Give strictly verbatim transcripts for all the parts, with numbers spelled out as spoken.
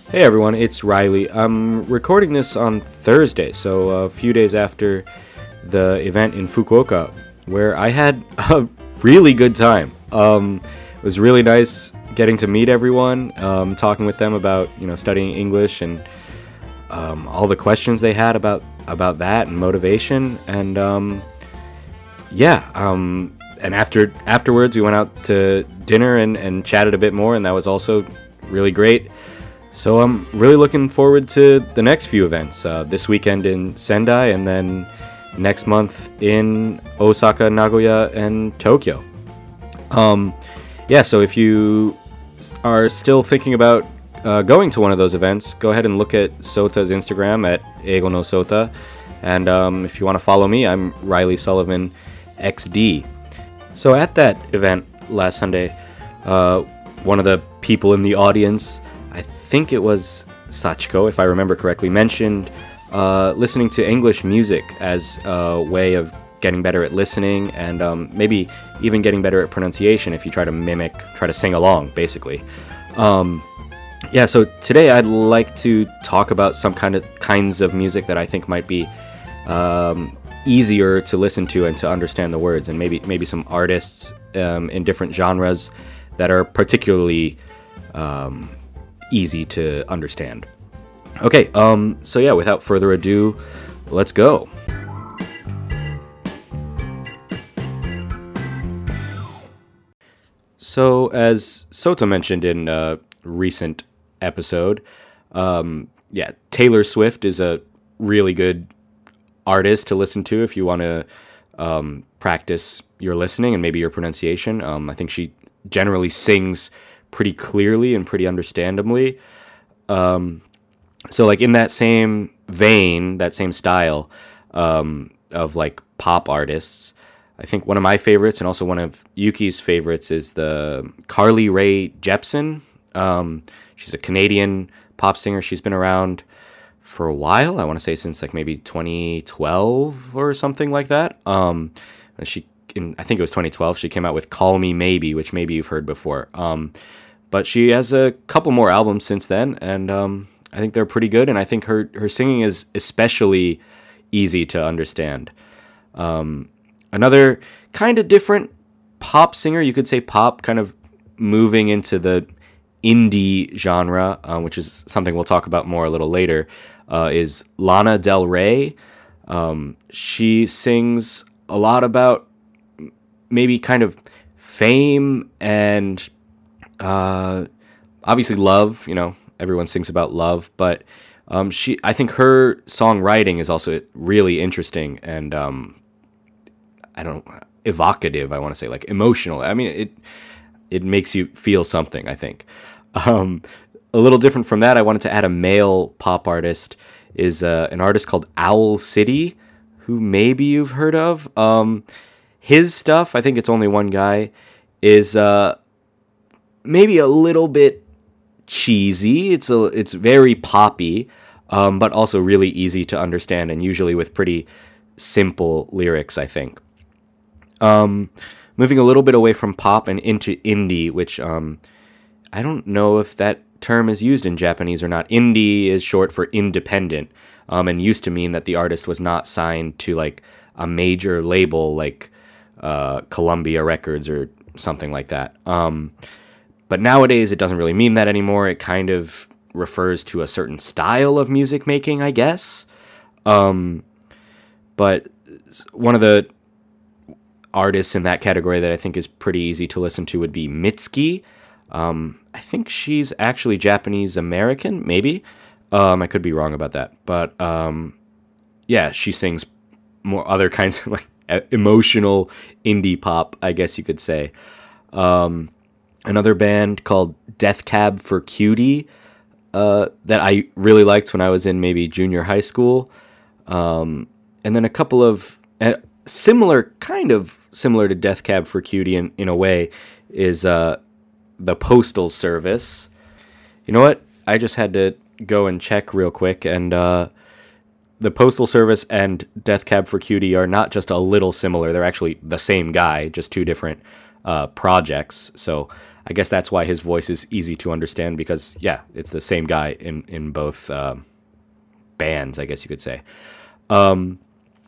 Hey everyone, it's Riley. I'm recording this on Thursday, so a few days after the event in Fukuoka, where I had a really good time. Um, it was really nice getting to meet everyone, um, talking with them about you know studying English and um, all the questions they had about about that and motivation. And um, yeah, um, and after afterwards we went out to dinner and, and chatted a bit more, and that was also really great. So I'm really looking forward to the next few events, uh, this weekend in Sendai and then next month in Osaka, Nagoya, and Tokyo. Um, yeah, so if you are still thinking about uh, going to one of those events, go ahead and look at Sota's Instagram at Eigo no Sota. And um, if you want to follow me, I'm Riley Sullivan X D. So at that event last Sunday, uh, one of the people in the audience, I think it was Sachiko, if I remember correctly, mentioned uh, listening to English music as a way of getting better at listening and um, maybe even getting better at pronunciation if you try to mimic, try to sing along, basically. Um, yeah, so today I'd like to talk about some kind of kinds of music that I think might be um, easier to listen to and to understand the words, and maybe maybe some artists um, in different genres that are particularly um, easy to understand. Okay, um, so yeah, without further ado, let's go. So, as Sota mentioned in a recent episode, um, yeah, Taylor Swift is a really good artist to listen to if you want to um, practice your listening and maybe your pronunciation. Um, I think she generally sings pretty clearly and pretty understandably. Um, so like in that same vein, that same style um, of like pop artists, I think one of my favorites and also one of Yuki's favorites is the Carly Rae Jepsen. Um, she's a Canadian pop singer. She's been around for a while. I want to say since like maybe twenty twelve or something like that. Um, she, in, I think it was twenty twelve, she came out with Call Me Maybe, which maybe you've heard before. Um, But she has a couple more albums since then, and um, I think they're pretty good, and I think her, her singing is especially easy to understand. Um, another kind of different pop singer, you could say pop, kind of moving into the indie genre, uh, which is something we'll talk about more a little later, uh, is Lana Del Rey. Um, she sings a lot about maybe kind of fame and Uh, obviously love, you know, everyone sings about love, but um, she, I think her songwriting is also really interesting and um, I don't evocative. I want to say like emotional. I mean, it it makes you feel something, I think. Um, a little different from that, I wanted to add a male pop artist is uh, an artist called Owl City, who maybe you've heard of. Um, his stuff, I think it's only one guy, is uh, maybe a little bit cheesy. It's a it's very poppy, um, but also really easy to understand, and usually with pretty simple lyrics, I think. Um, moving a little bit away from pop and into indie, which um, I don't know if that term is used in Japanese or not. Indie is short for independent, um, and used to mean that the artist was not signed to like a major label like uh, Columbia Records or something like that. Um, But nowadays, it doesn't really mean that anymore. It kind of refers to a certain style of music making, I guess. Um, but one of the artists in that category that I think is pretty easy to listen to would be Mitski. Um, I think she's actually Japanese-American, maybe. Um, I could be wrong about that. But um, yeah, she sings more other kinds of like emotional indie pop, I guess you could say. Um, Another band called Death Cab for Cutie uh, that I really liked when I was in maybe junior high school. Um, and then a couple of uh, similar, kind of similar to Death Cab for Cutie in, in a way, is uh, the Postal Service. You know what? I just had to go and check real quick, and uh, the Postal Service and Death Cab for Cutie are not just a little similar. They're actually the same guy, just two different uh, projects. So I guess that's why his voice is easy to understand because, yeah, it's the same guy in, in both uh, bands, I guess you could say. Um,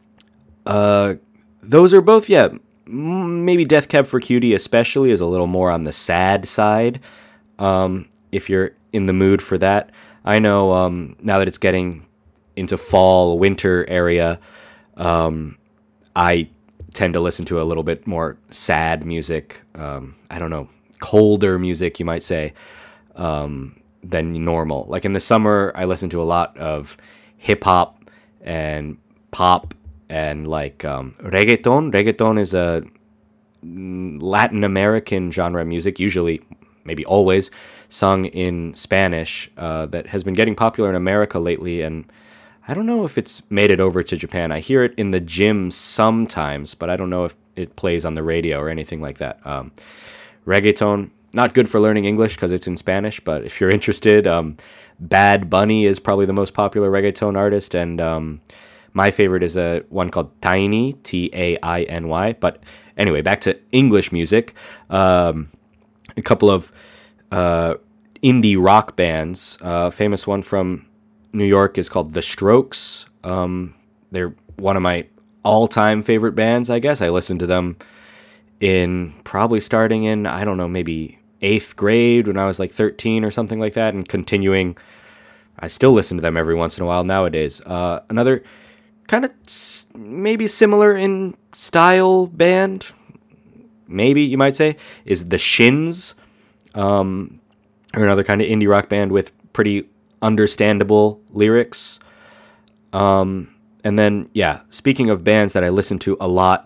uh, those are both, yeah, maybe Death Cab for Cutie especially is a little more on the sad side, um, if you're in the mood for that. I know um, now that it's getting into fall, winter area, um, I tend to listen to a little bit more sad music. Um, I don't know, colder music, you might say, um, than normal. Like in the summer, I listen to a lot of hip hop and pop and like um, reggaeton. Reggaeton is a Latin American genre of music, usually, maybe always, sung in Spanish, uh, that has been getting popular in America lately, and I don't know if it's made it over to Japan. I hear it in the gym sometimes, but I don't know if it plays on the radio or anything like that. Um, reggaeton, not good for learning English because it's in Spanish, but if you're interested, um, Bad Bunny is probably the most popular reggaeton artist, and um, my favorite is a one called Tiny, T A I N Y. But anyway, back to English music. Um, a couple of uh, indie rock bands. A uh, famous one from New York is called The Strokes. Um, they're one of my all-time favorite bands, I guess. I listened to them in probably starting in, I don't know, maybe eighth grade when I was like thirteen or something like that, and continuing. I still listen to them every once in a while nowadays. Uh, another kind of s- maybe similar in style band, maybe you might say, is The Shins, um, or another kind of indie rock band with pretty understandable lyrics. Um, and then, yeah, speaking of bands that I listened to a lot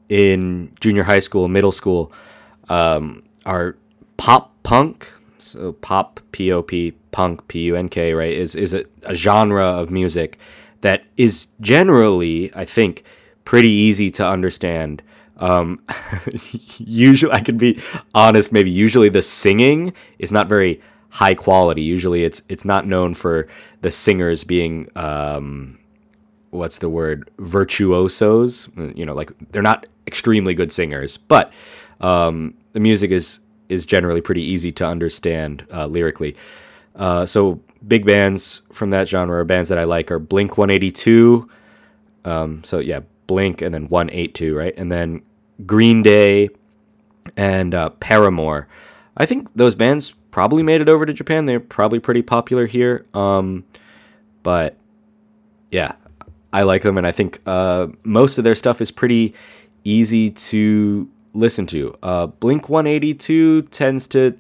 in junior high school, middle school, um, are pop punk. So pop, P O P, punk, P U N K, right, is, is a, a genre of music that is generally, I think, pretty easy to understand. Um, usually, I could be honest, maybe usually the singing is not very high quality. Usually it's it's not known for the singers being, um, what's the word, virtuosos. You know, like they're not extremely good singers, but um, the music is, is generally pretty easy to understand uh, lyrically. Uh, so big bands from that genre, bands that I like, are Blink one eighty-two. Um, so yeah, Blink and then one eighty-two, right? And then Green Day and uh, Paramore. I think those bands probably made it over to Japan. They're probably pretty popular here. Um, but yeah, I like them, and I think uh, most of their stuff is pretty easy to listen to. Uh, Blink one eighty-two tends to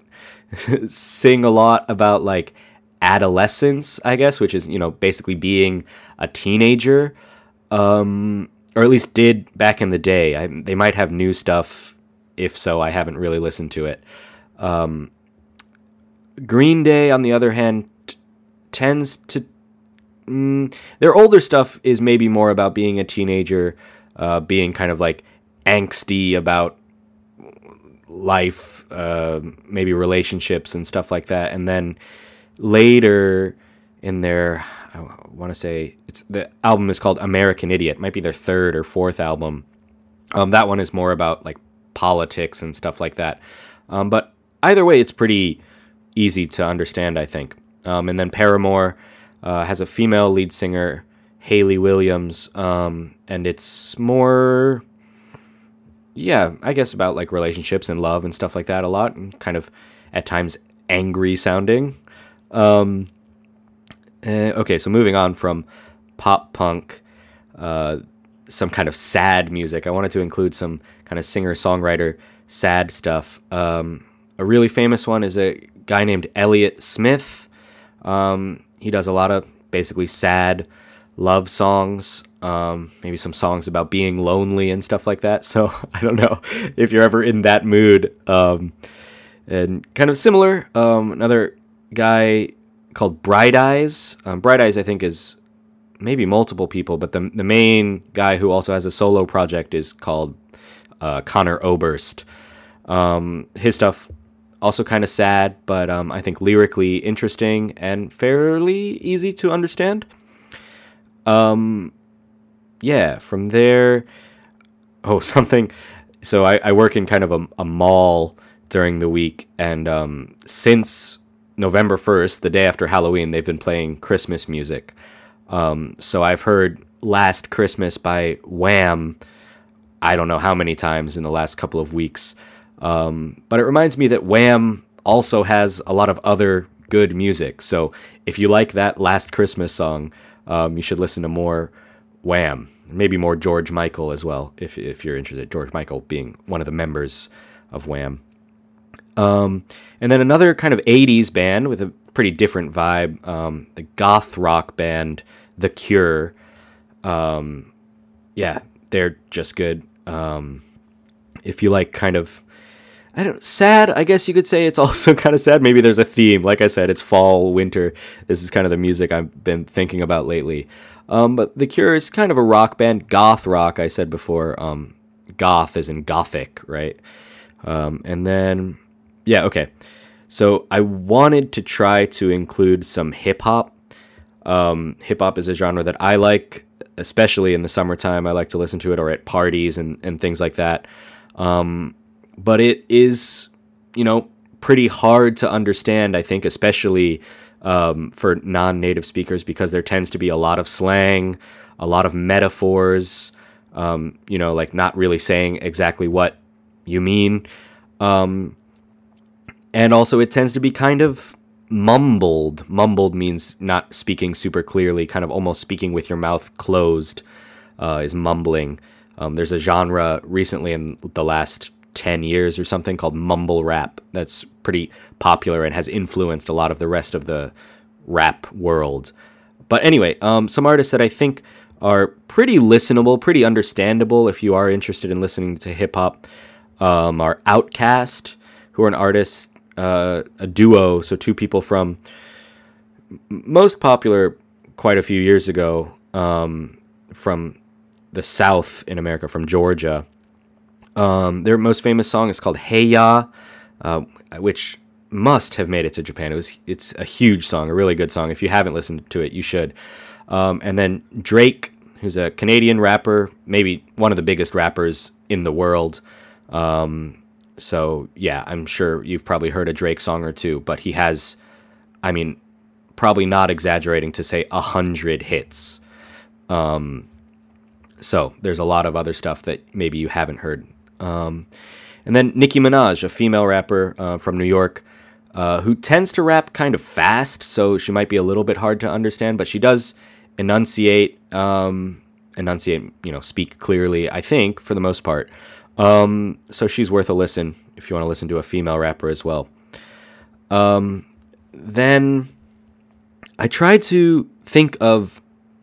sing a lot about like adolescence, I guess, which is, you know, basically being a teenager, um, or at least did back in the day. I, they might have new stuff. If so, I haven't really listened to it. Um, Green Day, on the other hand, t- tends to... Mm, their older stuff is maybe more about being a teenager, uh, being kind of like angsty about life, uh, maybe relationships and stuff like that. And then later in their, I want to say, it's the album is called American Idiot. It might be their third or fourth album. Um, that one is more about like politics and stuff like that. Um, but either way, it's pretty easy to understand, I think. Um, and then Paramore uh, has a female lead singer, Hayley Williams, um, and it's more, yeah, I guess about like relationships and love and stuff like that a lot, and kind of at times angry sounding. Um, uh, okay, so moving on from pop punk, uh, some kind of sad music. I wanted to include some kind of singer-songwriter sad stuff. Um, a really famous one is a guy named Elliott Smith. Um, he does a lot of basically sad love songs, um, maybe some songs about being lonely and stuff like that. So I don't know if you're ever in that mood. Um, and kind of similar, um, another guy called Bright Eyes. Um, Bright Eyes, I think, is maybe multiple people, but the the main guy who also has a solo project is called uh, Connor Oberst. Um, his stuff also kind of sad, but um, I think lyrically interesting and fairly easy to understand. Um, yeah, from there, oh, something so I, I work in kind of a, a mall during the week, and um, since November first, the day after Halloween, they've been playing Christmas music. Um, so I've heard Last Christmas by Wham! I don't know how many times in the last couple of weeks. Um, but it reminds me that Wham! Also has a lot of other good music. So if you like that Last Christmas song, um, you should listen to more Wham! Maybe more George Michael as well, if if you're interested. George Michael being one of the members of Wham! Um, and then another kind of eighties band with a pretty different vibe, um, the goth rock band The Cure. Um, yeah, they're just good. Um, if you like kind of, I don't sad, I guess you could say it's also kind of sad. Maybe there's a theme. Like I said, it's fall, winter. This is kind of the music I've been thinking about lately. Um, but The Cure is kind of a rock band, goth rock, I said before. Um, goth as in gothic, right? Um, and then, yeah, okay. So I wanted to try to include some hip hop. Um, hip hop is a genre that I like, especially in the summertime. I like to listen to it, or at parties and, and things like that. Um, but it is, you know, pretty hard to understand, I think, especially um, for non-native speakers, because there tends to be a lot of slang, a lot of metaphors, um, you know, like not really saying exactly what you mean. Um, and also it tends to be kind of mumbled. Mumbled means not speaking super clearly, kind of almost speaking with your mouth closed, uh, is mumbling. Um, there's a genre recently in the last ten years or something called mumble rap that's pretty popular and has influenced a lot of the rest of the rap world. But anyway, um, some artists that I think are pretty listenable, pretty understandable if you are interested in listening to hip-hop um, are Outkast, who are an artist, uh, a duo, so two people from most popular quite a few years ago um, from the South in America, from Georgia. Um, their most famous song is called Hey Ya, uh, which must have made it to Japan. It was it's a huge song, a really good song. If you haven't listened to it, you should. Um, and then Drake, who's a Canadian rapper, maybe one of the biggest rappers in the world. Um, so yeah, I'm sure you've probably heard a Drake song or two, but he has, I mean, probably not exaggerating to say a hundred hits. Um, so there's a lot of other stuff that maybe you haven't heard. Um, and then Nicki Minaj, a female rapper uh, from New York, uh, who tends to rap kind of fast, so she might be a little bit hard to understand, but she does enunciate, um, enunciate, you know, speak clearly, I think, for the most part. Um, so she's worth a listen if you want to listen to a female rapper as well. Um, then I tried to think of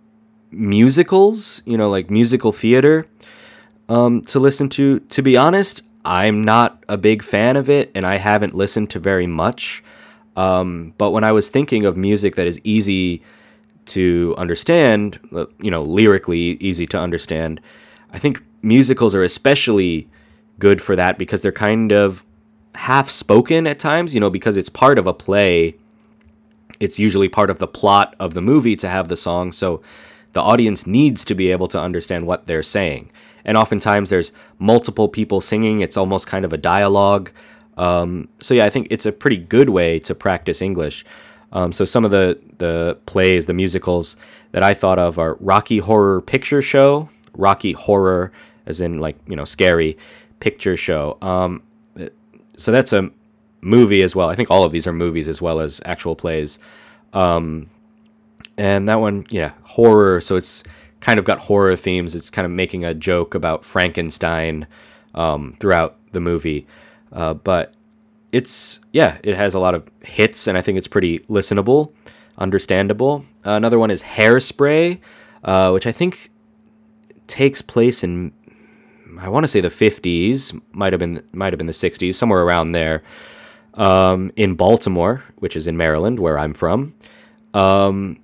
musicals, you know, like musical theater, um, to listen to. To be honest, I'm not a big fan of it, and I haven't listened to very much. Um, but when I was thinking of music that is easy to understand, you know, lyrically easy to understand, I think musicals are especially good for that because they're kind of half spoken at times, you know, because it's part of a play. It's usually part of the plot of the movie to have the song. So the audience needs to be able to understand what they're saying. And oftentimes there's multiple people singing. It's almost kind of a dialogue. Um, so yeah, I think it's a pretty good way to practice English. Um, so some of the, the plays, the musicals that I thought of are Rocky Horror Picture Show, Rocky Horror as in like, you know, scary picture show. Um, so that's a movie as well. I think all of these are movies as well as actual plays. Um, and that one, yeah, horror. So it's kind of got horror themes. It's kind of making a joke about Frankenstein um, throughout the movie. Uh, but it's, yeah, it has a lot of hits, and I think it's pretty listenable, understandable. Uh, another one is Hairspray, uh, which I think takes place in, I want to say the fifties, might have been might have been the sixties, somewhere around there, um, in Baltimore, which is in Maryland, where I'm from. Um,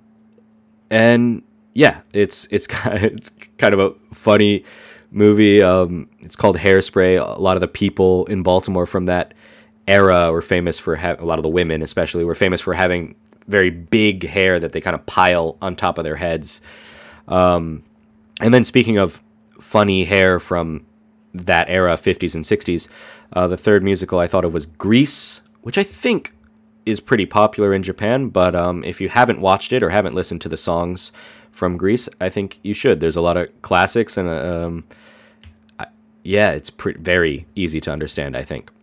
and yeah, it's it's kind of, it's kind of a funny movie. Um, it's called Hairspray. A lot of the people in Baltimore from that era were famous for ha- a lot of the women, especially, were famous for having very big hair that they kind of pile on top of their heads. Um, and then speaking of funny hair from that era, fifties and sixties. Uh, the third musical I thought of was Grease, which I think is pretty popular in Japan, but um, if you haven't watched it or haven't listened to the songs from Grease, I think you should. There's a lot of classics, and um, I, yeah, it's pre- very easy to understand, I think.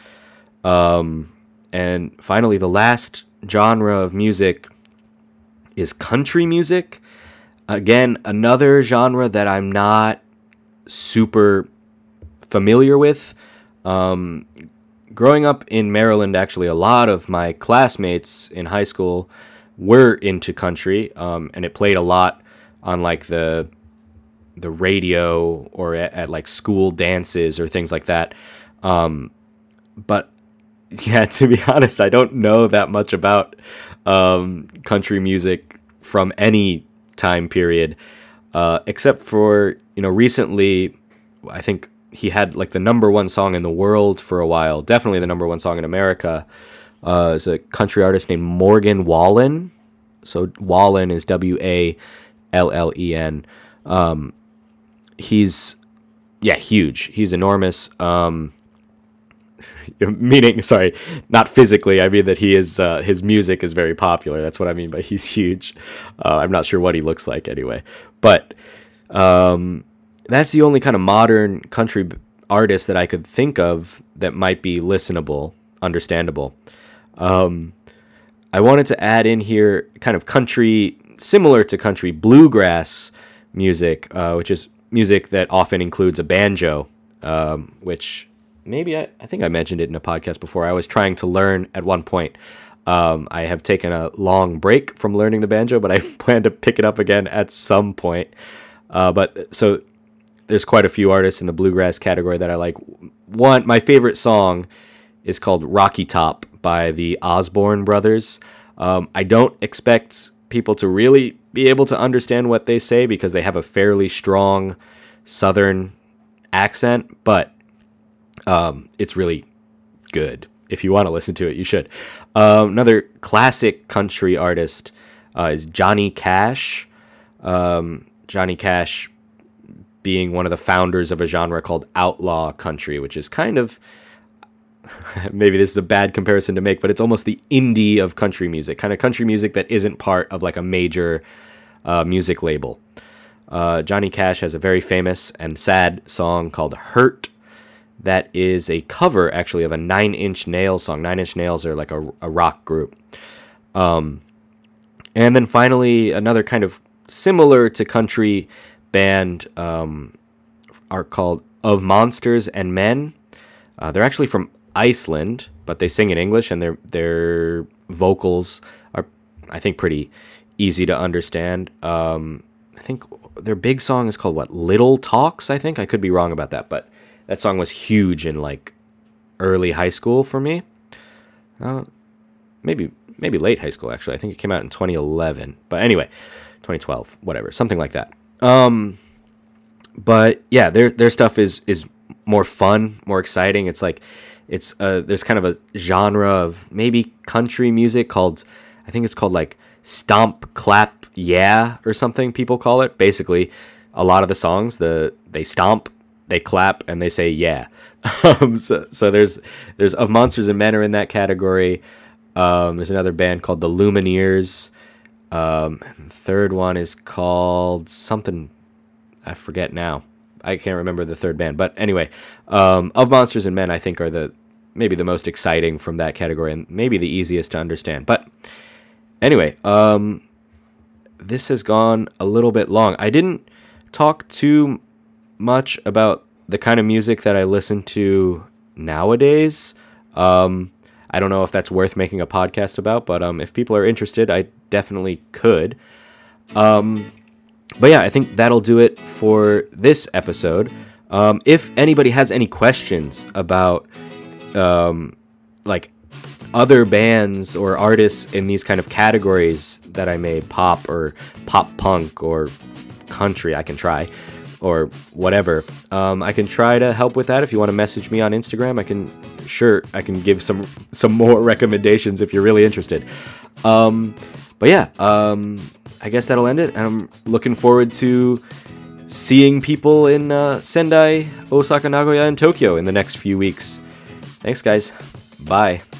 Um, and finally, the last genre of music is country music. Again, another genre that I'm not super familiar with. Um, growing up in Maryland, actually, a lot of my classmates in high school were into country, um, and it played a lot on like the the radio or at, at like school dances or things like that. Um, but yeah, to be honest, I don't know that much about um, country music from any time period, uh, except for, you know, recently, I think he had like the number one song in the world for a while, definitely the number one song in America. Uh, is a country artist named Morgan Wallen. So Wallen is W A L L E N. Um, he's, yeah, huge. He's enormous. Um, meaning, sorry, not physically. I mean that he is, uh, his music is very popular. That's what I mean by he's huge. Uh, I'm not sure what he looks like anyway. But um, that's the only kind of modern country artist that I could think of that might be listenable, understandable. Um, I wanted to add in here kind of country, similar to country bluegrass music, uh, which is music that often includes a banjo, um, which maybe I, I think I mentioned it in a podcast before. I was trying to learn at one point. Um, I have taken a long break from learning the banjo, but I plan to pick it up again at some point. Uh, but so there's quite a few artists in the bluegrass category that I like. One, my favorite song is called Rocky Top by the Osborne Brothers. Um, I don't expect people to really be able to understand what they say because they have a fairly strong Southern accent, but um, it's really good. If you want to listen to it, you should. Um, another classic country artist uh, is Johnny Cash. Um, Johnny Cash being one of the founders of a genre called outlaw country, which is kind of, maybe this is a bad comparison to make, but it's almost the indie of country music, kind of country music that isn't part of like a major uh, music label. Uh, Johnny Cash has a very famous and sad song called Hurt. That is a cover, actually, of a Nine Inch Nails song. Nine Inch Nails are like a, a rock group. Um, and then finally, another kind of similar to country band um, are called Of Monsters and Men. Uh, they're actually from Iceland, but they sing in English, and their their vocals are, I think, pretty easy to understand. Um, I think their big song is called, what, Little Talks, I think? I could be wrong about that, but that song was huge in, like, early high school for me. Uh, maybe maybe late high school, actually. I think it came out in twenty eleven. But anyway, twenty twelve, whatever, something like that. Um, but, yeah, their their stuff is is more fun, more exciting. It's like, it's uh, there's kind of a genre of maybe country music called, I think it's called, like, Stomp, Clap, Yeah, or something people call it. Basically, a lot of the songs, the they stomp, they clap, and they say yeah. um, so, so there's there's Of Monsters and Men are in that category. Um, there's another band called the Lumineers. Um, the third one is called something, I forget now. I can't remember the third band, but anyway, um, Of Monsters and Men I think are the maybe the most exciting from that category and maybe the easiest to understand. But anyway, um, this has gone a little bit long. I didn't talk too much about the kind of music that I listen to nowadays. Um, I don't know if that's worth making a podcast about, but um, if people are interested, I definitely could. Um, but yeah, I think that'll do it for this episode. Um, if anybody has any questions about um, like other bands or artists in these kind of categories that I made, pop or pop punk or country, I can try. Or whatever. Um, I can try to help with that. If you want to message me on Instagram, I can, sure, I can give some some more recommendations if you're really interested. Um, but yeah, um, I guess that'll end it. I'm looking forward to seeing people in uh, Sendai, Osaka, Nagoya, and Tokyo in the next few weeks. Thanks, guys. Bye.